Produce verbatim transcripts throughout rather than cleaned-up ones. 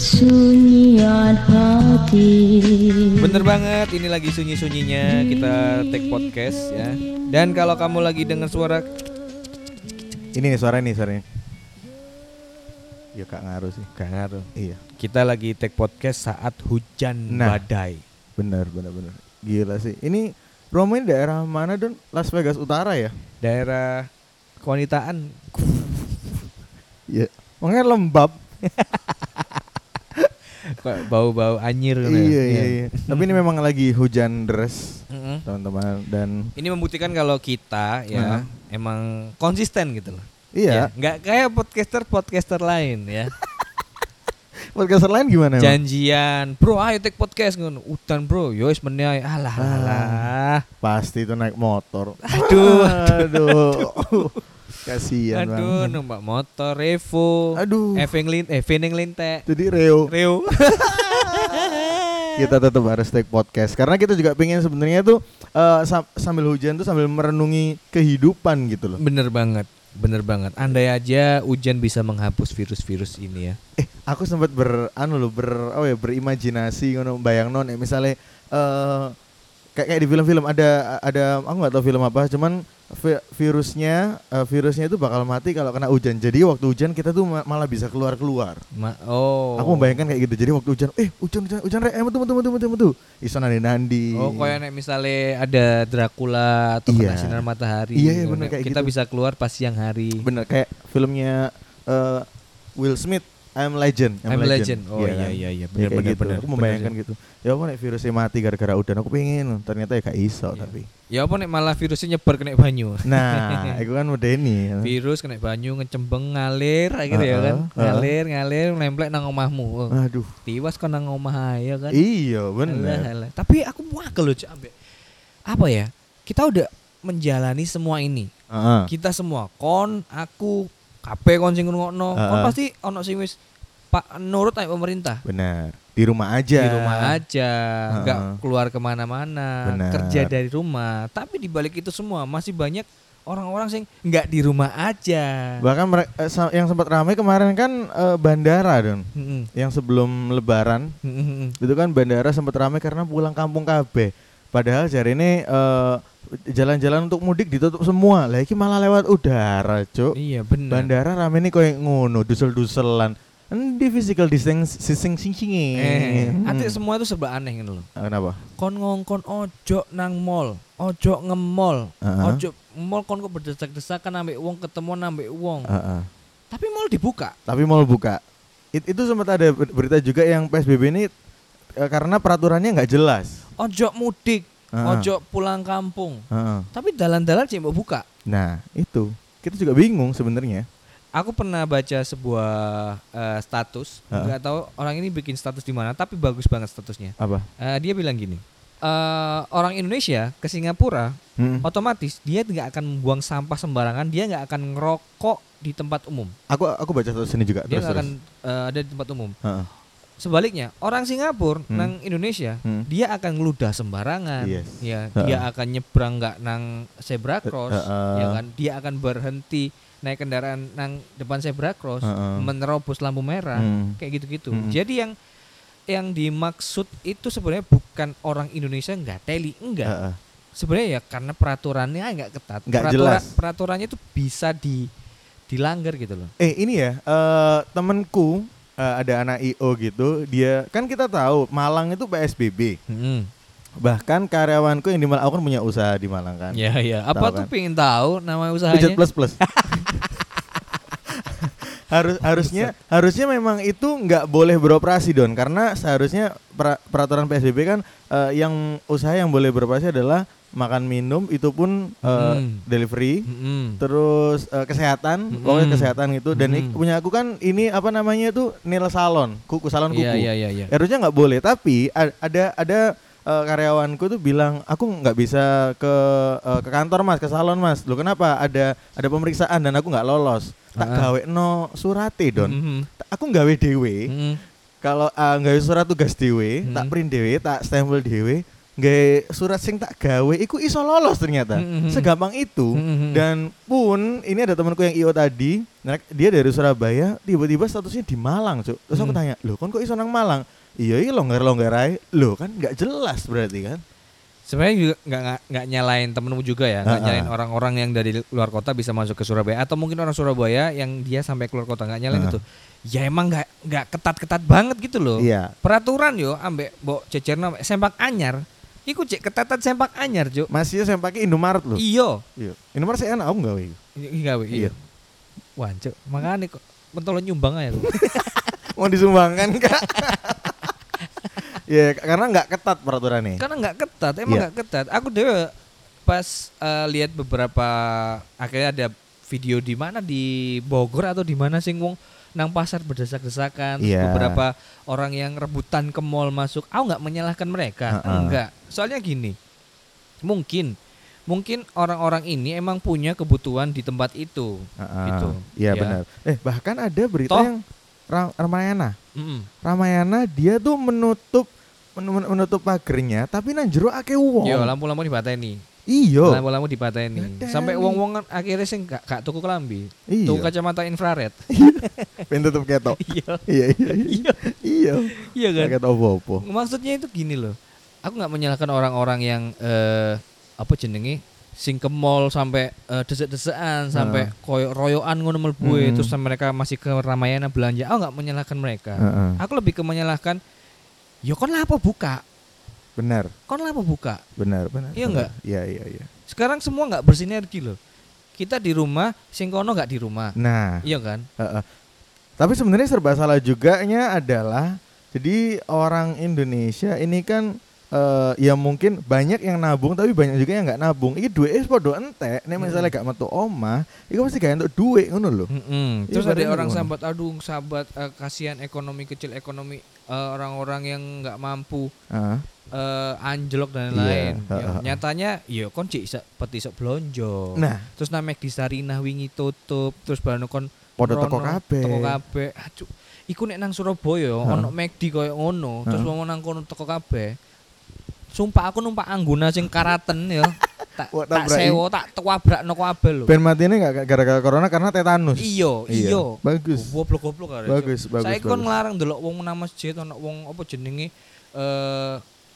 kesunyian hati. Bener banget, ini lagi sunyi-sunyinya kita take podcast ya. Dan kalau kamu lagi dengar suara ini nih suara nih suaranya. Ya gak ngaruh sih. Gak ngaruh. Iya. Kita lagi take podcast saat hujan nah, badai. Bener bener bener. Gila sih. Ini Romain daerah mana Don? Las Vegas Utara ya? Daerah kewanitaan. Iya. Makanya lembab. Bau-bau anyir kan iya, ya. iya iya. Tapi ini memang lagi hujan deras, Mm-hmm. teman-teman, dan ini membuktikan kalau kita ya uh-huh. emang konsisten gitu loh. Iya. Ya, nggak kayak podcaster-podcaster lain ya. Podcaster lain gimana? Janjian, bro, ayo take podcast ngono. Udan bro, yo wis meneh alah alah. Pasti itu naik motor. Aduh, aduh. Kasihan banget. Aduh, numpak motor Revo. Aduh. Evenglin, Evenglinte. Jadi Reo. Reo. Kita tetap harus take podcast karena kita juga pengen sebenarnya tuh uh, sam- sambil hujan tuh sambil merenungi kehidupan gitu loh. Bener banget. Bener banget. Andai aja hujan bisa menghapus virus-virus ini ya. Eh, aku sempat ber anu loh, ber oh ya berimajinasi ngono bayangno nek misale uh, kayak kayak di film-film ada ada aku enggak tahu film apa, cuman vi- virusnya uh, virusnya itu bakal mati kalau kena hujan. Jadi waktu hujan kita tuh ma- malah bisa keluar-keluar. Ma- oh. Aku membayangkan kayak gitu. Jadi waktu hujan, eh hujan hujan hujan rek, metu metu metu metu metu. Iso nandi-nandi. Oh, kayak nek misale ada Dracula atau iya. kena sinar matahari. Iya, iya benar kayak kita gitu. bisa keluar pas siang hari. Bener kayak filmnya uh, Will Smith, I'm Legend. I'm, I'm Legend. Legend. Oh iya kan? iya iya benar benar benar. Aku membayangkan gitu. Ya apa nek virusnya mati gara-gara udan, aku pengen. Ternyata ya gak iso iya. tapi. Ya apa nek malah virusnya nyebar kena banyu. Nah, itu kan medeni. Virus kena banyu ngecembeng ngalir gitu uh-uh, ya kan. Uh-uh. Ngalir ngalir nemplek nang omahmu. Aduh. Tiwas kon nang omah ya kan. Iya, bener. Alah, alah. Tapi aku muakel loh ambek. Apa ya? Kita udah menjalani semua ini. Uh-uh. Kita semua kon, aku, kabeh kon sing ngrungokno, uh-uh. kon pasti ono sing wis Pak nurut aja pemerintah. Benar. Di rumah aja. Di rumah aja, nggak uh-uh. keluar kemana-mana, benar. Kerja dari rumah. Tapi di balik itu semua masih banyak orang-orang sing nggak di rumah aja. Bahkan mere- yang sempat ramai kemarin kan uh, bandara Don. Mm-hmm. Yang sebelum Lebaran mm-hmm. itu kan bandara sempat ramai karena pulang kampung kabeh. Padahal jari ini uh, jalan-jalan untuk mudik ditutup semua. Lah iki malah lewat udara, Cuk. Iya benar. Bandara rame nih koyo ngono, dusel-duselan. Endi physical distancing sing-sing. Eh, hmm. Ate semua itu serba aneh gitu loh. Kenapa? Kon ngongkon ojo nang mall, ojo nge-mall, uh-huh. ojo mall kon kok berdesak-desakan ambek wong ketemu ambek wong. Uh-huh. Tapi mall dibuka. Tapi mall buka. It, itu sempat ada berita juga yang P S B B ini eh, karena peraturannya nggak jelas. Ojo mudik, uh-huh. ojo pulang kampung. Uh-huh. Tapi dalan-dalan sih mau buka. Nah, itu. Kita juga bingung sebenarnya. Aku pernah baca sebuah uh, status, nggak uh. tahu orang ini bikin status di mana, tapi bagus banget statusnya. Apa? Uh, dia bilang gini, uh, orang Indonesia ke Singapura, hmm. otomatis dia nggak akan membuang sampah sembarangan, dia nggak akan ngerokok di tempat umum. Aku aku baca status ini juga. Dia nggak akan uh, ada di tempat umum. Uh. Sebaliknya, orang Singapura hmm. nang Indonesia, hmm. dia akan ngeludah sembarangan, yes. ya, uh. dia akan nyebrang nggak nang zebra cross, uh, uh. ya kan, dia akan berhenti naik kendaraan nang depan zebra cross, uh-uh. menerobos lampu merah, hmm. kayak gitu-gitu. Hmm. Jadi yang yang dimaksud itu sebenarnya bukan orang Indonesia nggak teli, enggak. Uh-uh. Sebenarnya ya karena peraturannya nggak ketat. Nggak Peraturan, jelas. Peraturannya itu bisa di dilanggar gitu loh. Eh ini ya uh, temanku uh, ada anak I O gitu, dia kan kita tahu Malang itu P S B B. Hmm. Bahkan karyawanku yang di Malang, aku kan punya usaha di Malang kan. Iya iya. Apa tahu tuh kan? Pengen tahu nama usahanya? Pijat plus plus. Harus harusnya harusnya memang itu nggak boleh beroperasi Don, karena seharusnya pra, peraturan P S B B kan uh, yang usaha yang boleh beroperasi adalah makan minum, itu pun uh, mm. delivery, mm. terus uh, kesehatan, mm. pokoknya kesehatan gitu. Dan mm. punya aku kan ini apa namanya itu nail salon, kuku salon kuku. Yeah, yeah, yeah, yeah. Harusnya nggak boleh, tapi ada ada uh, karyawanku tuh bilang aku nggak bisa ke uh, ke kantor mas, ke salon mas. Loh kenapa? Ada ada pemeriksaan dan aku nggak lolos. Tak uh-huh. gawe no surate Don. Mm-hmm. Aku gawe dewe. Mm-hmm. Kalau uh, gawe surat tugas dewe, mm-hmm. tak print dewe, tak stempel dewe, nggae surat sing tak gawe iku iso lolos ternyata. Mm-hmm. Segampang itu. Mm-hmm. Dan pun ini ada temanku yang I O tadi, dia dari Surabaya, tiba-tiba statusnya di Malang, Cuk. Terus aku mm. tanya, "Loh, kon kok iso nang Malang?" Iya, iya longgar-longgar ae. Loh, kan enggak jelas berarti kan. Sebenarnya juga nggak nggak nyalain temenmu juga ya, nggak nyalain orang-orang yang dari luar kota bisa masuk ke Surabaya atau mungkin orang Surabaya yang dia sampai keluar kota, nggak nyalain uh. itu. Ya emang nggak nggak ketat-ketat banget gitu loh. Iya. Peraturan yo ambek mbok cecerno sempak anyar. Iku cek ketatan sempak anyar, Cuk. Masih sempake Indomaret lho. Iya. Iya. Indomaret sih enak aku gawe iku. Gawe iya. Wah, Cuk. Makane kok mentolo nyumbang aja. Mau disumbangkan Kak? Ya, karena nggak ketat peraturannya. Karena nggak ketat, emang nggak yeah. ketat. Aku deh pas uh, lihat beberapa akhirnya ada video di mana di Bogor atau di mana sing wong nang pasar berdesak-desakan, yeah. beberapa orang yang rebutan ke mall masuk. Aku nggak menyalahkan mereka, uh-uh. enggak. Soalnya gini, mungkin mungkin orang-orang ini emang punya kebutuhan di tempat itu, uh-uh. gitu. Iya ya. Benar. Eh bahkan ada berita Toh, yang Ram- Ramayana, mm-hmm. Ramayana dia tuh menutup menutup pagernya tapi nang jero akeh wong. Yo, lampu-lampu dipateni. Iya. Lampu-lampu dipateni. Sampai wong-wong akhirnya sing gak, gak tuku kelambi. Iya. Tuku kacamata infrared. Ben tutup ketok. Iya. Iya, iya. Iya. Iya. Iya kan? Ketok opo-opo. Maksudnya itu gini loh. Aku enggak menyalahkan orang-orang yang eh, apa jenenge sing ke mall sampai uh, desek-desekan, sampai uh. koyo royoan ngono mlebu hmm. terus mereka masih ke Ramayana belanja. Aku enggak menyalahkan mereka. Uh-uh. Aku lebih ke menyalahkan ya kon lapo buka? Benar. Kon lapo buka? Benar, benar. Iya enggak? Iya, iya, iya. Sekarang semua enggak bersinergi loh. Kita di rumah, sing kono enggak di rumah. Nah, iya kan? Uh-uh. Tapi sebenarnya serba salah juganya adalah jadi orang Indonesia ini kan Uh, ya mungkin banyak yang nabung tapi banyak juga yang nggak nabung. Iki duit es podo entek. Nek misalnya gak metu omah, iku pasti gak entuk duit ngono lho. Mm-hmm. Terus ya, ada orang sahabat aduh sahabat uh, kasihan ekonomi kecil ekonomi uh, orang-orang yang nggak mampu uh. Uh, anjlok dan lain-lain. Yeah. Ya, uh, uh. Nyatanya ya kon cik iso peti iso blonjo. Nah, terus namek di Sarinah wingi tutup, terus bareng kon podo toko kabeh. Toko kabeh. Aduh, iku nek nang Surabaya uh. ono McD koyo ngono, uh. terus wong nang kono toko kabeh. Sumpah aku numpak Angguna sing karaten ya. Tak tak sewa, tak tuwabrakno kabeh lho. Ben matine enggak gara-gara corona karena tetanus. Iya, iya. Bagus. Goblok-goblok arek. Bagus, bagus. Saiki kon nglarang ndelok wong nang masjid, ono wong apa jenenge eh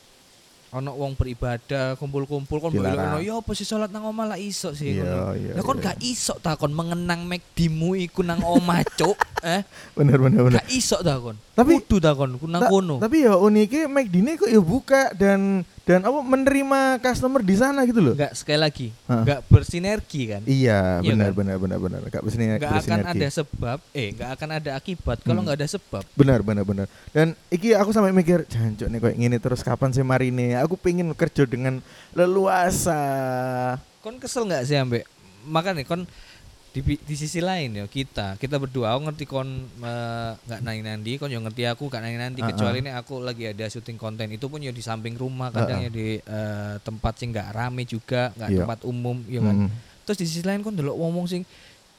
ono wong beribadah, kumpul-kumpul kon mbok ya apa sih salat nang omah lah iso sih ngono. Lah kon gak iso ta kon mengenang McD-mu iku nang omah, Cuk. Eh, bener bener bener. Gak iso ta kon. Tapi kudu ta kon nang kono. Tapi ya unike McD-ne kok ya buka dan dan apa menerima customer di sana gitu loh. Enggak, sekali lagi enggak bersinergi kan. Iya, benar kan? benar benar benar enggak bersinergi. Enggak akan ada sebab, eh enggak akan ada akibat kalau enggak hmm. ada sebab. Benar benar benar. Dan iki aku sampai mikir, jancuk nih kayak gini terus kapan sih marine? Aku pengen kerja dengan leluasa. Kon kesel enggak sih ambek? Makanya kon di, di sisi lain ya kita kita berdua aku ngerti kon nggak uh, nang nanti kon yang ngerti aku gak nang nanti uh-uh. kecuali ini aku lagi ada syuting konten itu pun ya di samping rumah kadang uh-uh. ya di uh, tempat sing nggak rame juga nggak yeah. tempat umum ya kan. Mm. Terus di sisi lain kon delok ngomong sing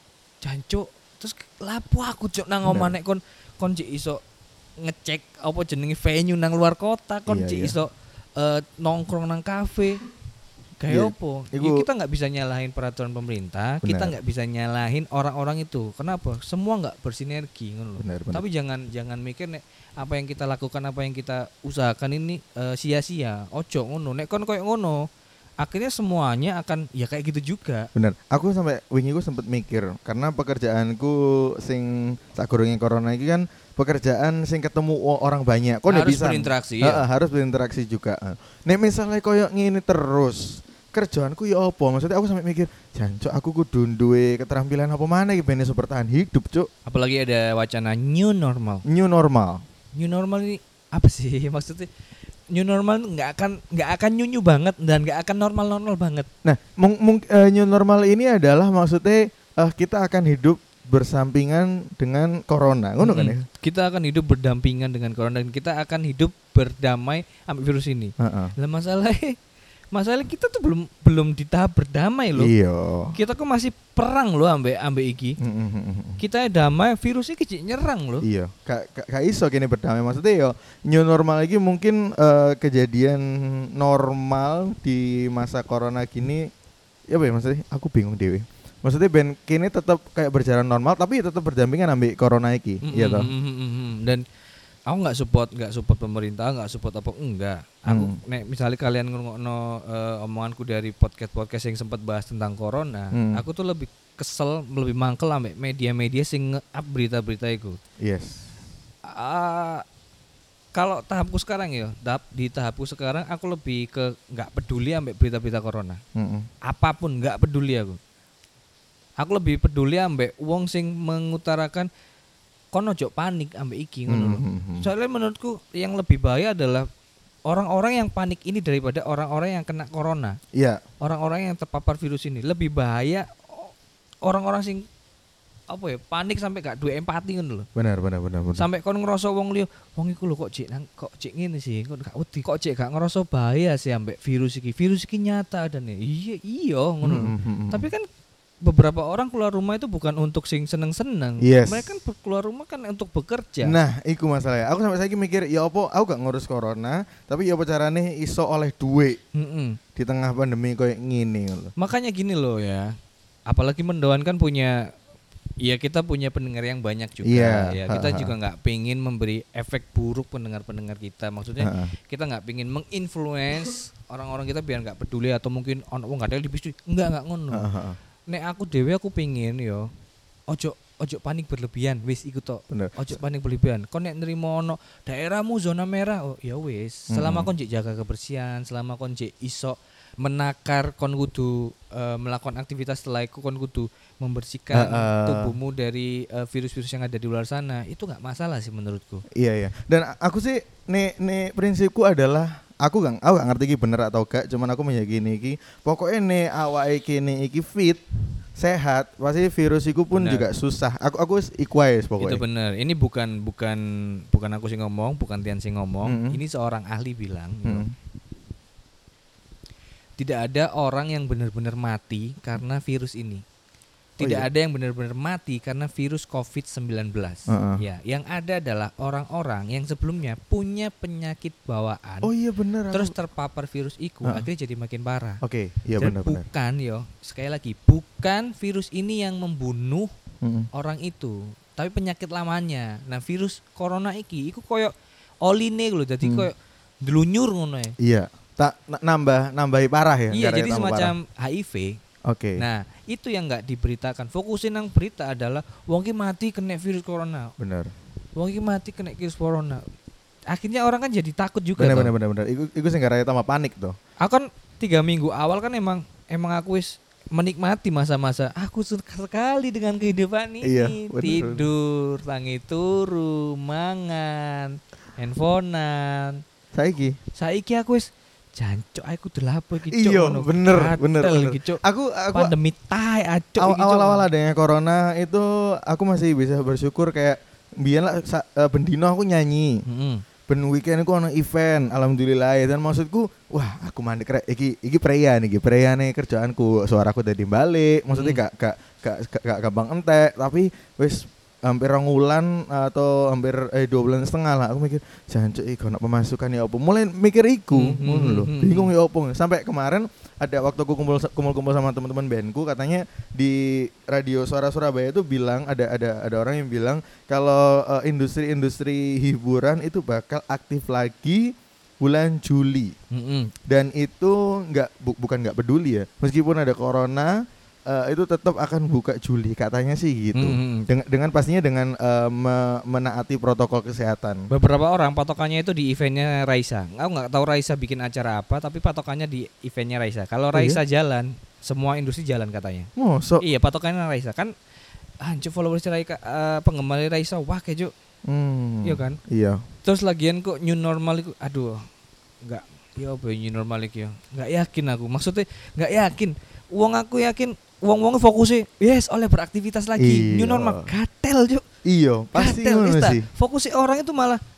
jancuk terus lapo aku cok nang omah nek kon kon cik iso ngecek apa jenenge venue nang luar kota kon yeah, cik yeah. iso uh, nongkrong nang kafe. Kayak opo? Ya, kita nggak bisa nyalahin peraturan pemerintah, benar. Kita nggak bisa nyalahin orang-orang itu. Kenapa? Semua nggak bersinergi, ngono. Tapi jangan jangan mikir nek apa yang kita lakukan, apa yang kita usahakan ini uh, sia-sia. Ojo ngono. Nek kon koyo ngono, akhirnya semuanya akan ya kayak gitu juga. Bener. Aku sampai wingi ku sempet mikir karena pekerjaanku sing sakurunge corona iki kan pekerjaan sing ketemu orang banyak. Kok harus bisa berinteraksi ya? Uh, harus berinteraksi juga. Uh. Nek misalnya koyo ngene terus kerjaanku ya apa? Maksudnya aku sampai mikir, jancuk aku kudu duwe keterampilan apa mana iki ben iso bertahan hidup, Cuk. Apalagi ada wacana new normal. New normal. New normal ini apa sih maksudnya? New normal nggak akan nggak akan nyunyu banget dan nggak akan normal-normal banget. Nah, mung, mung, uh, new normal ini adalah maksudnya uh, kita akan hidup bersampingan dengan corona, ngono kan ya? Kita akan hidup berdampingan dengan corona dan kita akan hidup berdamai sama virus ini. Uh-uh. Lah masalahnya Masalah kita tuh belum belum di tahap berdamai loh. Iya. Kita kok masih perang loh ambek ambek iki. Mm-hmm. Kita damai, virus iki kecil nyerang loh. Iya. Kak kak iso kene berdamai maksudnya yo new normal lagi mungkin uh, kejadian normal di masa corona gini. Ya apa ya maksudnya? Aku bingung dewe. Maksudnya ben kini tetap kayak berjalan normal tapi tetap berdampingan ambek corona iki, mm-hmm. iya toh. Mm-hmm. Dan aku nggak support nggak support pemerintah, nggak support apa enggak. Aku hmm. nek misalnya kalian ngurungokno uh, omonganku dari podcast-podcast yang sempat bahas tentang corona, hmm. aku tuh lebih kesel, lebih mangkel ambek media-media sing nge-up berita-berita itu. Yes. Uh, kalau tahapku sekarang ya, tahap di tahapku sekarang aku lebih ke nggak peduli ambek berita-berita corona. Hmm. Apapun nggak peduli aku. Aku lebih peduli ambek wong sing mengutarakan kono ojo panik ambek iki ngono lho. Mm-hmm. Soalnya menurutku yang lebih bahaya adalah orang-orang yang panik ini daripada orang-orang yang kena corona. Iya. Yeah. Orang-orang yang terpapar virus ini lebih bahaya orang-orang sing apa ya panik sampai gak duwe empati ngono lho. Benar benar benar benar. Sampai kon ngerasa wong liya, wong iku lho kok cek nang kok cek ngene sih, kok gak wedi, kok cek gak ngerasa bahaya sih ambek virus iki. Virus iki nyata adane. Iya iya ngono lho. Mm-hmm. Tapi kan beberapa orang keluar rumah itu bukan untuk sing seneng-seneng. Yes. Mereka kan keluar rumah kan untuk bekerja. Nah, iku masalahnya. Aku sampai saiki mikir, ya apa aku gak ngurus corona, tapi ya apa carane iso oleh duit Mm-mm. di tengah pandemi kayak gini loh. Makanya gini loh ya. Apalagi Mendoan kan punya, ya kita punya pendengar yang banyak juga. Yeah. Ya kita ha-ha. juga nggak pengin memberi efek buruk pendengar-pendengar kita. Maksudnya ha-ha. kita nggak pengin menginfluence orang-orang kita biar nggak peduli atau mungkin orang nggak ada di bisnis. Enggak nggak ngono. Ha-ha. Nek aku dewe aku pengin yo ojo ojo panik berlebihan wis iku tok. Ojo panik berlebihan. Kon nek nrimo ono daerahmu zona merah oh ya wis. Selama hmm. kon jek jaga kebersihan, selama kon jek iso menakar kon kudu uh, melakukan aktivitas setelah itu kon kudu membersihkan uh, uh. tubuhmu dari uh, virus-virus yang ada di luar sana. Itu enggak masalah sih menurutku. Iya iya. Dan aku sih nek nek prinsipku adalah aku gak, aku gak ngerti iki bener atau gak, cuman aku meyakini iki pokoknya nih awake kene iki fit, sehat, pasti virus iku pun bener. Juga susah. Aku aku iku ae pokoknya. Itu bener. Ini bukan bukan bukan aku sing ngomong, bukan Tian sing ngomong. Mm-hmm. Ini seorang ahli bilang, mm-hmm. tidak ada orang yang benar-benar mati karena virus ini. Tidak oh, iya. ada yang benar-benar mati karena virus covid sembilan belas. Uh-uh. Ya, yang ada adalah orang-orang yang sebelumnya punya penyakit bawaan. Oh iya benar. Terus aku... terpapar virus itu uh-uh. akhirnya jadi makin parah. Oke, okay, iya benar-benar. Bukan yo, sekali lagi bukan virus ini yang membunuh uh-uh. orang itu, tapi penyakit lamanya. Nah, virus corona iki iku koyo oline lho, dadi hmm. koyo delunyur ngono ya. Iya. Tak nambah nambahi parah ya. Iya, jadi semacam parah. H I V. Oke. Okay. Nah, itu yang enggak diberitakan. Fokusin nang berita adalah wong ki mati kena virus corona. Benar. Wong ki mati kena virus corona. Akhirnya orang kan jadi takut juga. Benar benar benar benar. Iku iku sing gara-gara tambah panik tuh. Aku kan tiga minggu awal kan emang emang aku wis menikmati masa-masa aku suka sekali dengan kehidupan ini. Iya, bener, tidur, tangi turu, mangan, handphonean. Saiki. Saiki aku wis jancuk aku delapo iki cuk. Iya, bener bener. bener. Aku aku pandemi tae acuk iki. Awal-awal adanya corona itu aku masih bisa bersyukur kayak biyen lah uh, bendino aku nyanyi. Heeh. Ben weekend aku ono event, alhamdulillah. Dan maksudku, wah, aku mandek rek iki iki preya nih, preyane kerjaanku. Suaraku dadi balik. Maksudnya hmm. gak gak gak gak gampang entek, tapi wis hampir rong wulan atau hampir eh dua bulan setengah lah aku mikir jancuk iki ono pemasukan ya opo. Mulai mikir iku ngono mm-hmm. lho. Bingung ya opo. Sampai kemarin ada waktu aku kumpul kumpul-kumpul sama teman-teman bandku katanya di radio Suara Surabaya itu bilang ada ada ada orang yang bilang kalau uh, industri-industri hiburan itu bakal aktif lagi bulan Juli. Mm-hmm. Dan itu enggak bu, bukan enggak peduli ya. Meskipun ada corona Uh, itu tetap akan buka Juli katanya sih gitu. Mm-hmm. Dengan, dengan pastinya dengan uh, me- menaati protokol kesehatan. Beberapa orang patokannya itu di eventnya Raisa. Aku nggak tahu Raisa bikin acara apa, tapi patokannya di eventnya Raisa. Kalau Raisa oh, iya? jalan, semua industri jalan katanya. Oh, so iya patokannya Raisa kan. Anjir followers Raisa, uh, penggemar Raisa, wah kejo. Hmm, iya kan? Iya. Terus lagian kok new normal itu, aduh, nggak. Ya apa new normal itu ya? Nggak yakin aku. Maksudnya nggak yakin. Uang aku yakin. Wong-wong fokusnya yes oleh beraktivitas lagi. Iyo. New normal gatel juk. Iya, pasti ngono sih. Fokusnya orang itu malah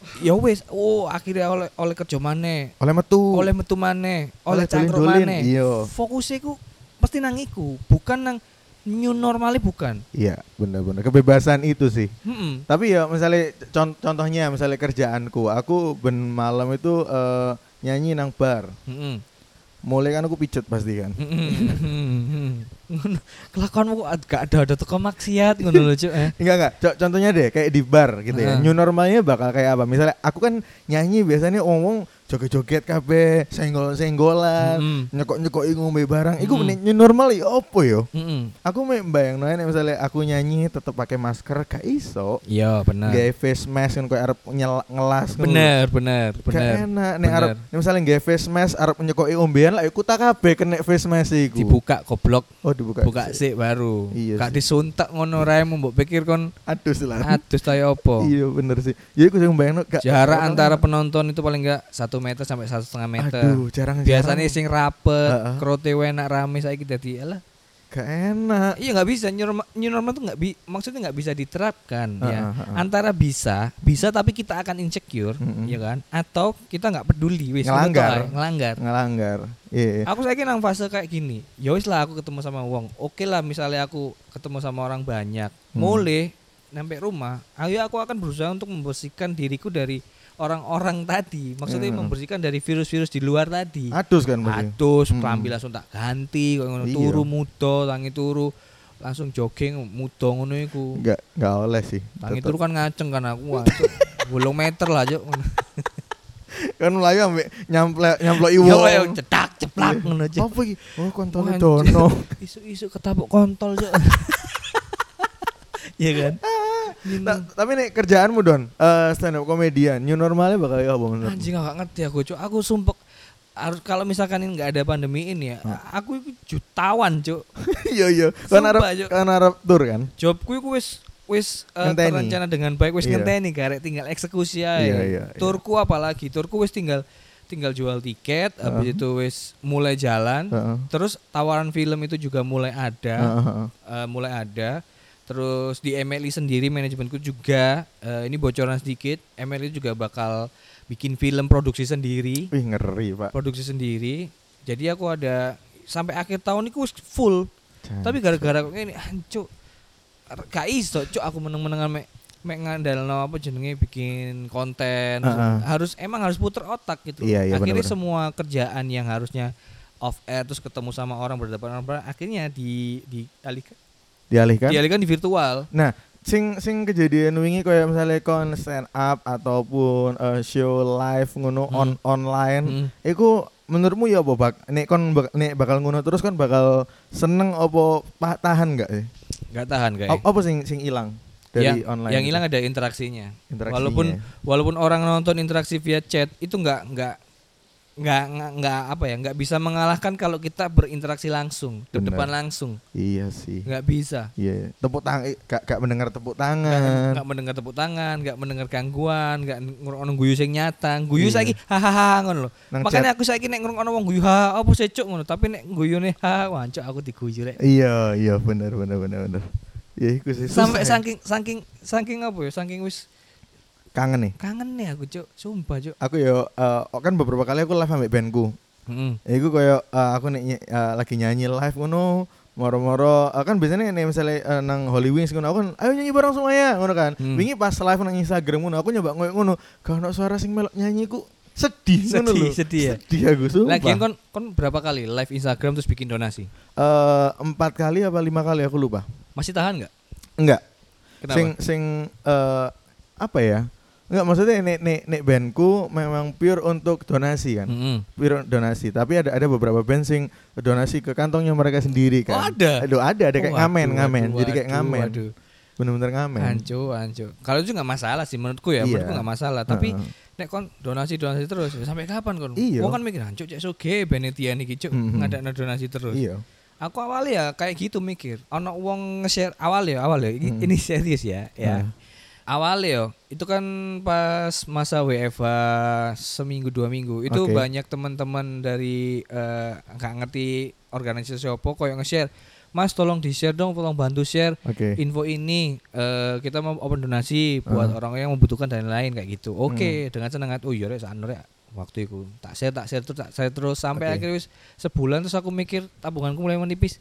ya wis, oh akhirnya oleh oleh kerja maneh. Oleh metu. Oleh metu maneh, oleh cangkruk maneh. Iya. Fokusnya ku pasti nang iku, bukan nang new normali bukan. Iya, benar-benar kebebasan itu sih. Mm-mm. Tapi ya misalnya cont- contohnya misalnya kerjaanku, aku ben malam itu uh, nyanyi nang bar. Mm-mm. Mulai kan aku pijet pasti kan. Kelakuanmu kok gak ada ada toko maksiat ngono lho Cuk eh. Enggak enggak. C- contohnya deh kayak di bar gitu ya. Uh. New normalnya bakal kayak apa? Misalnya aku kan nyanyi biasanya ngomong joget-joget kabeh, senggol-senggolan, mm-hmm. nyekok-nyekoki ngombe barang. Mm-hmm. Iku new normal ya opo yo? Mm-hmm. Aku mbayangno nek misalnya aku nyanyi tetep pakai masker gak iso. Iya, bener. Gawe face mask kan koyo arep ngelas. Bener, bener, bener. Gak enak nek arep misalnya gawe face mask arep nyekoki ombean lah iku tak kabeh kena face mask iku. Dibuka goblok. Oh, dibuka. Buka sik baru. Iya gak sih. disuntak ngono rae mbok pikir kon adus lah. Adus ta opo? Iya bener sih. Ya iku sing mbayangno gak jarak antara kan penonton itu paling enggak satu meter sampai satu setengah meter. Aduh, jarang. Biasanya sing rapet, uh-uh. krote enak rame saiki dadi alah. Gak enak. Iya nggak bisa new normal, new normal tuh nggak bi, maksudnya nggak bisa diterapkan uh-uh, ya. Uh-uh. Antara bisa, bisa tapi kita akan insecure, uh-uh. ya kan? Atau kita nggak peduli, wis ngelanggar, ngelanggar, ngelanggar. Iya. Yeah. Aku saiki nang fase kayak gini. Ya wis lah aku ketemu sama wong. Oke lah misalnya aku ketemu sama orang banyak, hmm. mulai sampai rumah, ayo aku akan berusaha untuk membersihkan diriku dari orang-orang tadi, maksudnya hmm. membersihkan dari virus-virus di luar tadi. Adus kan mesti. Adus, hmm. kelambi langsung tak ganti, ngono iya. Turu mudo, tangi turu langsung jogging mudo ngono iku. Enggak, enggak oleh sih. Tangi turu kan ngaceng kan aku, bolong meter lah Cuk. Kan mlayu ambek nyamplek nyamplok iwo. Yo cedak ceplak ngono aja. Apa iki? Oh, kontole dono. Isu-isu ketabuk kontol Cuk. Iya kan? Ta- tapi nek kerjaanmu Don, uh, stand up comedian, new normalnya bakal ya apa menurutmu? Anjing gak ngerti aku, Cuk. Aku sumpek harus kalau misalkan ini enggak ada pandemi ini ya, hmm. aku itu jutawan, Cuk. Iya iya. Kan arep kan arep tur kan. Jobku iku wis wis uh, terencana dengan baik, wis iya. ngenteni garek tinggal eksekusi ae. Iya, iya, Turku iya. Apalagi, turku wis tinggal tinggal jual tiket, uh. habis itu wis mulai jalan. Uh-uh. Terus tawaran film itu juga mulai ada. Uh-huh. Uh, mulai ada. Terus di M L I sendiri manajemenku juga uh, ini bocoran sedikit, M L I juga bakal bikin film produksi sendiri. Wih ngeri Pak. Produksi sendiri. Jadi aku ada sampai akhir tahun itu full. Jangan. Tapi gara-gara kok ini hancur. Gak iso Cuk aku meneng-menengan mek mek ngandalno apa jenenge bikin konten. Uh-huh. Harus emang harus puter otak gitu. Iya, iya, akhirnya bener-bener. Semua kerjaan yang harusnya off air terus ketemu sama orang berhadapan orang akhirnya di dialihkan dialihkan dialihkan di virtual. Nah, sing sing kejadian wingi kayak misalnya kon stand up ataupun uh, show live ngono hmm. on online, hmm. iku menurutmu ya apa bak nek kon bak, nek bakal ngono terus kon bakal seneng apa tahan enggak sih? Enggak tahan kayak. A- apa sing sing hilang dari yang, online? Yang hilang ada interaksinya. interaksinya. Walaupun walaupun orang nonton interaksi via chat itu enggak enggak Nggak, nggak, nggak apa ya, nggak bisa mengalahkan kalau kita berinteraksi langsung, di depan langsung. Iya sih. Nggak bisa. Iya. Tepuk tangan, nggak, nggak mendengar tepuk tangan. Nggak, nggak mendengar tepuk tangan, nggak mendengar gangguan, nggak ngrungokno guyu sing nyata, guyu iya. Saiki hahaha ngono lho. Makanya aku saiki nek ngrungokno wong guyu ha apa sih cuk ngono, tapi nek guyune ha wancuk aku diguyu rek. Iya, iya bener bener bener bener. Ya iku sih. Sampai saking saking saking apa ya, saking wis kangen nih kangen nih aku Cuk, sumpah Cuk. Aku yo uh, kan beberapa kali aku live ambek bandku. Heeh. Mm. Iku koyo uh, aku nek uh, lagi nyanyi live ngono moro-moro uh, kan biasanya nek misalnya uh, nang Holy Wings ngono aku kan ayo nyanyi bareng semuanya ngono kan. Mm. Wingi pas live nang Instagram ngono aku nyoba ngoyo ngono gak ono suara sing melok nyanyi ku sedih ngono lho. Sedih ya. Sedih aku sumpah. Lagian kon kon berapa kali live Instagram terus bikin donasi? Eh uh, empat kali apa lima kali aku lupa. Masih tahan enggak? Enggak. Kenapa? Sing sing uh, apa ya? Enggak, maksudnya nek nek nek bandku memang pure untuk donasi kan. Mm-hmm. Pure donasi, tapi ada ada beberapa band sing donasi ke kantongnya mereka sendiri kan. Oh, ada. Aduh, ada ada kayak oh, ngamen, waduh, ngamen. waduh, Jadi kayak ngamen. Waduh. Bener-bener ngamen. Ancu, ancu. Kalau itu enggak masalah sih menurutku ya, iya. menurutku enggak masalah, tapi uh-huh. nek kon donasi-donasi terus sampai kapan kon? Iya. Wong kan mikir ancu cek soge benetian iki cuk mm-hmm. ngadakno donasi terus. Iya. Aku awal ya kayak gitu mikir. Ono wong nge-share awal ya, awal ya. Mm-hmm. Ini serius ya, ya. Uh. Awal ya, itu kan pas masa W F H seminggu dua minggu itu okay. Banyak teman-teman dari nggak uh, ngerti organisasi apa koyo nge-share, Mas tolong di-share dong, tolong bantu share okay. info ini. Uh, kita mau open donasi buat uh. orang yang membutuhkan dan lain kayak gitu. Oke, okay, hmm. dengan senang hati. Oh iya rek sakno rek. Waktu itu tak share tak share terus tak share terus sampai okay. akhirnya wis sebulan terus aku mikir tabunganku mulai menipis.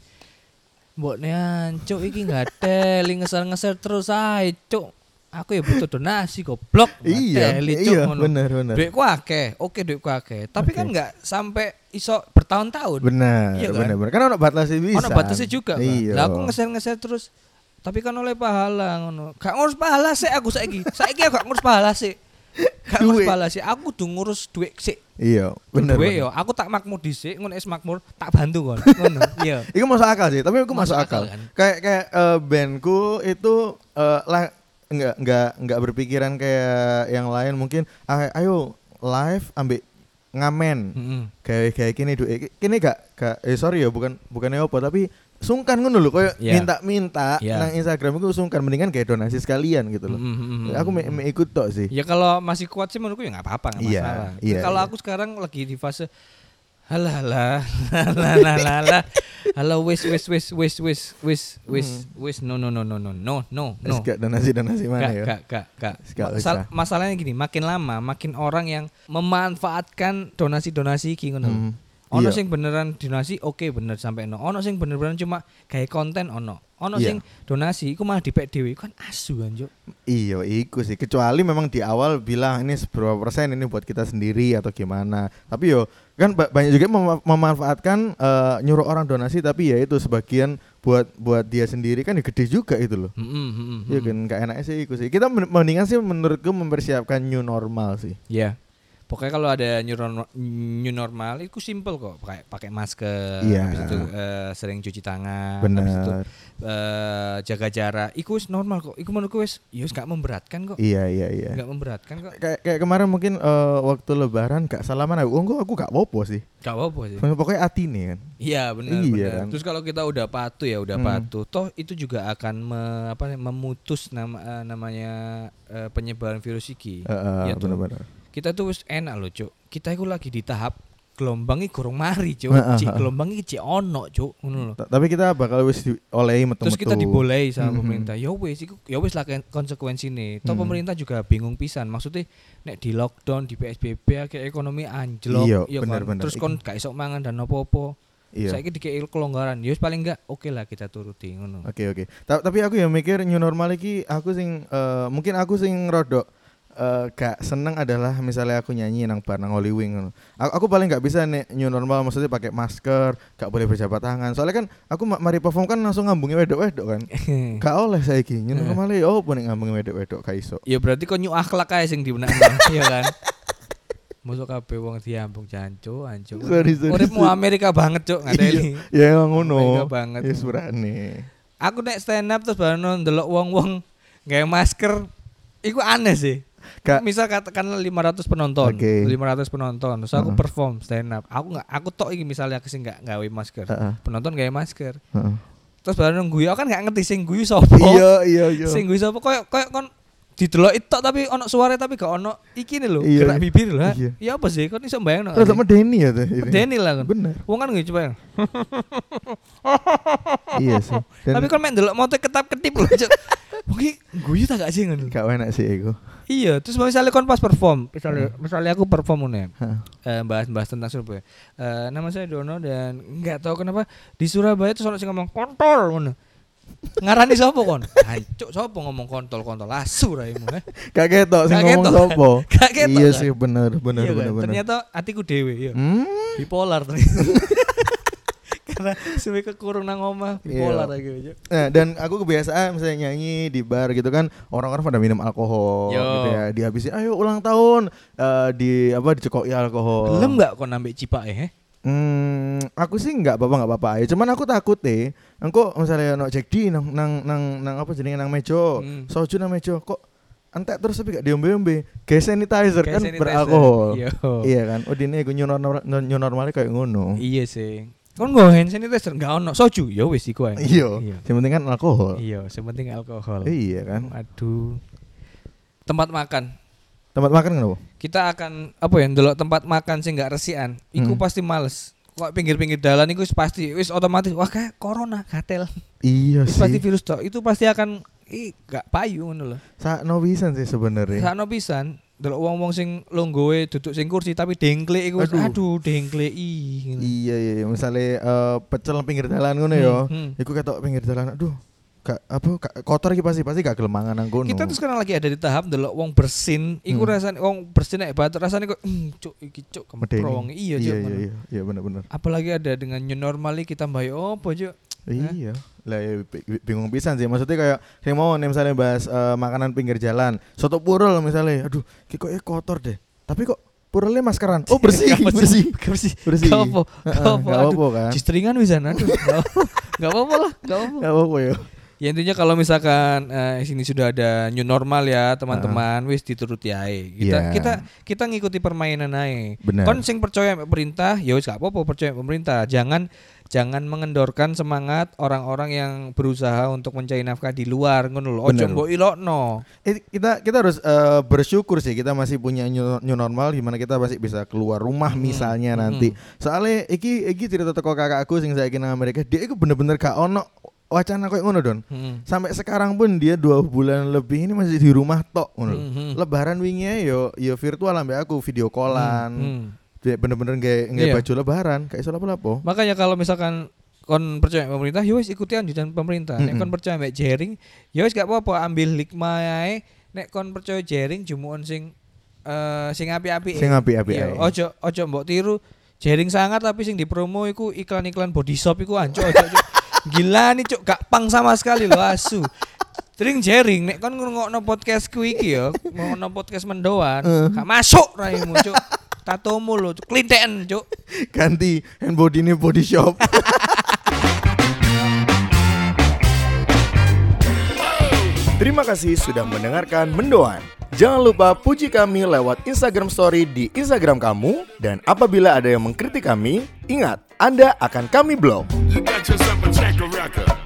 Mbokne ancuk iki enggak teli ngeser-ngeser terus ae, cuk. Aku ya butuh donasi goblok. Iya, iya bener bener. Duitku akeh, oke duitku akeh. Tapi okay. kan enggak sampai iso bertahun-tahun. Benar, iya kan? benar benar. Kan ono batasnya bisa. Ono batasnya juga. Iya. Lah aku ngeser-ngeser terus. Tapi kan oleh pahala ngono. Gak ngurus pahala sih aku saiki. Saiki aku gak ngurus pahala sih. Gak ngurus pahala sih. Aku tuh ngurus duit sih. Iya, bener. Duit yo, aku tak makmur dhisik, ngono es makmur, tak bantu kon. Ngono. Iya. Iku masuk akal sih, tapi aku masuk, masuk akal. akal kan? Kayak kayak uh, bandku itu uh, lah enggak enggak enggak berpikiran kayak yang lain mungkin ayo live ambil ngamen mm-hmm. kayak kayak gini duit kini gak gak eh sorry ya bukan bukannya apa tapi sungkan ngono lho koyo yeah. minta-minta yeah. nang Instagram itu sungkan mendingan kayak donasi sekalian gitu loh. Mm-hmm. Aku me, me ikut tok sih. Ya kalau masih kuat sih menurutku ya enggak apa-apa enggak yeah, masalah. Yeah, kalau yeah. aku sekarang lagi di fase halah halah halah halah halah wis wis wis wis wis wis wis wis no no no no no no no no gak donasi donasi mana ya gak gak gak Masal, masalahnya gini makin lama makin orang yang memanfaatkan donasi donasi iki ngono hmm. ono sing beneran donasi oke okay, bener sampai no ono sing bener-bener cuma kayak konten ono ono yeah. sing donasi iku malah dipek dhewe kan asu kan Juk. Iya iku sih kecuali memang di awal bilang ini seberapa persen ini buat kita sendiri atau gimana tapi yo kan banyak juga mem- memanfaatkan uh, nyuruh orang donasi tapi ya itu sebagian buat buat dia sendiri kan ya gede juga itu loh. Mm-hmm, ya kan gak enaknya sih iku sih kita mendingan sih menurutku mempersiapkan new normal sih. Iya. Yeah. Pokoknya kalau ada new normal, new normal itu simple kok, pakai pakai masker, yeah. habis itu uh, sering cuci tangan, bener. habis itu uh, jaga jarak. Iku normal kok. Iku menurutku wis ya wis gak memberatkan kok. Iya iya iya. Gak memberatkan kok. Kayak kayak kemarin mungkin uh, waktu lebaran gak salaman aku, enggak aku gak apa-apa sih. Gak apa-apa sih. Pokoknya atine kan. Iya benar iya, benar. Kan? Terus kalau kita udah patuh ya udah hmm. patuh, toh itu juga akan me, apa memutus nama uh, namanya uh, penyebaran virus iki. Uh, uh, ya benar-benar. Kita tuh wis enak loh Cuk. Kita itu lagi di tahap gelombangnya gorong mari Cuk. Uh, uh, Cik gelombangnya cik ono Cuk ngono lho. Tapi kita bakal wis diolehi metu-metu. Terus kita dibolehi sama mm-hmm. pemerintah. Ya wis iku ya wis lah konsekuensine. Toh mm. pemerintah juga bingung pisan. Maksudnya nek di lockdown di P S B B akhir ekonomi anjlok ya kan. Terus kon gak iso mangan dan opo-opo. Iya. Saiki dikei kelonggaran. Ya wis paling enggak oke okay lah kita turuti ngono. Oke okay, oke. Okay. Tapi aku ya mikir new normal iki aku sing uh, mungkin aku sing rodok Uh, gak seneng adalah misalnya aku nyanyi nang bar nang Holy Wing. Aku, aku paling gak bisa nih new normal maksudnya pakai masker, gak boleh berjabat tangan. Soalnya kan aku mari perform kan langsung ngambungi wedok-wedok kan. Gak oleh saiki new normal e oh pun ngambungi wedok-wedok gak iso. Ya berarti kok new akhlak ae sing dibenakno, iya kan. Mosok kabeh wong diambung jancu, ancu. Uripmu Amerika banget, Cuk, ngadeli. Ya emang ngono. Amerika banget. Ya surane. Aku nek stand up terus baru ndelok wong-wong gawe masker, iku aneh sih. Kak. Misal katakanlah lima ratus penonton, okay. lima ratus penonton, terus aku uh-huh. perform stand up. Aku nggak, aku tok iki misalnya aku sih nggak gawe masker, uh-huh. penonton gawe masker. Uh-huh. Terus baru nunggu ya, kan nggak ngerti sing guyu sapa. Iya iya iya. Sing guyu sapa koyo koyo kon didelok itok tapi ono suara tapi gak ono iki nih lho, gerak bibir lah. Iya. Ya apa sih kon iso mbayangno. Terus medeni ya tuh. Medeni lah kan. Bener. Wong kan nggih coba. Iya sih. Dan tapi kon mek ndelok moto ketap-ketip lho, Cuk. Mungkin guyu tak gak sih ngono. Gak enak sih iku. Iya, terus misalnya kon pas perform, misalnya hmm. misalnya aku perform nih, eh, bahas-bahas tentang Surabaya. Eh, nama saya Dono dan nggak tahu kenapa di Surabaya tuh soalnya sih ngomong kontol, ngono. Ngarani sapa kon? Hancuk sapa ngomong kontol-kontol asu raimu eh. Gak ketok sing ngomong sapa. Gak ketok. Iya sih bener bener iya, bener kan? bener. Ternyata hatiku dhewe ya. Hmm? Bipolar ternyata. Karena suwe kekurung nang omah bipolar yeah. gitu. Nah, dan aku kebiasaan misalnya nyanyi di bar gitu kan orang-orang pada minum alkohol Yo. gitu ya. Dihabisin ayo ulang tahun uh, di apa dicekoki alkohol. Belum enggak kok nambah cipake eh? Hmm, aku sih enggak apa-apa enggak apa-apa. Ya cuman aku takut deh. Engko misalnya no Jack D nang nang nang, nang apa jenenge nang meja, hmm. soju nang meja kok entek terus tapi gak diombe-ombe. Kayak sanitizer kan sanitizer. Beralkohol. Yo. Iya kan. Oh dine iku new normal new normalnya kayak ngono. Iya sih. Kon nggo hand sanitizer enggak ono soju ya wis iku ae. Iya. Sing penting kan alkohol. Iya, sing penting alkohol. Iya kan. Aduh. Tempat makan. Tempat makan kenapa? Kita akan apa ya ndelok tempat makan sing enggak resikan. Iku hmm. pasti males. kok pinggir-pinggir dalan iku pasti wis otomatis wah kayak corona gatel. Iya sih. Pasti virus tok. Itu pasti akan ih gak payu ngono lho. Sakno pisan sih sebenarnya. Sakno pisan. Delok wong-wong sing longgoe duduk sing kursi tapi dengklek iku aduh, aduh dengklek ih. Iya iya iya misale uh, pecel pinggir dalan ngono ya. Hmm, hmm. Iku ketok pinggir dalan aduh gak apa gak, kotor iki pasti pasti gak gelem mangan nang kono. Kita tuh sekarang lagi ada di tahap delok wong bersin iku hmm. rasane wong bersin nek batur rasane kok mm, cuk iki cuk kempro wong iya iya iya iya iya bener-bener. Apalagi ada dengan new normal iki tambah opo cuk. Iya. Lah ya bingung pisan sih maksudnya kayak sing mau misalnya bahas uh, makanan pinggir jalan, soto purel misalnya. Aduh, ki kok kotor deh. Tapi kok purelnya maskeran. Oh, bersih, bersih. Bersih. Bersih. Gak apa. Gak apa kan. Cistringan wisan aduh. Gak apa-apa lah, gak apa-apa. Gak apa-apa ya. Ya intinya kalau misalkan uh, sini sudah ada new normal ya teman-teman, uh. wis dituruti ae. Kita yeah. kita kita ngikuti permainan ae. Kon sing percaya pemerintah, ya wis gak apa-apa percaya pemerintah. Jangan jangan mengendorkan semangat orang-orang yang berusaha untuk mencari nafkah di luar ngono lho. Ojo mbok ilokno. Eh, kita kita harus uh, bersyukur sih kita masih punya new, new normal di mana kita masih bisa keluar rumah hmm. misalnya hmm. nanti. Soalnya iki iki cerita teko kakakku sing saiki nang Amerika, dia iku bener-bener gak ono wacana kayak ngono Don. Hmm. Sampai sekarang pun dia dua bulan lebih ini masih di rumah tok ngono. Hmm. Lebaran wingi yo yo virtual ambek aku video callan. Hmm. Hmm. Bener-bener nggak nggak iya. baju lebaran kayak iso lapo-lapo. Makanya kalau misalkan kon percaya pemerintah, yo wis ikuti anjuran pemerintah. Mm-hmm. Nek kon percaya mbek jaring, yo wis gak apa-apa ambil hikmah ae. Nek kon percaya jaring jumuan sing uh, sing api-api. Sing api-api ae. Ojo ojo mbok tiru jaring sangat tapi sing dipromo iku iklan-iklan body shop iku anco ojo. Gila nih cuk, gak pang sama sekali lo asu. Tering jaring nek kon ngurungokno podcastku iki yo, ngurungokno podcast mendoan, uh. gak masuk raimu cuk. Tatomu lo cuk, klinten cuk. Ganti hand body ini body shop. Terima kasih sudah mendengarkan Mendoan. Jangan lupa puji kami lewat Instagram Story di Instagram kamu. Dan apabila ada yang mengkritik kami, ingat, Anda akan kami blok.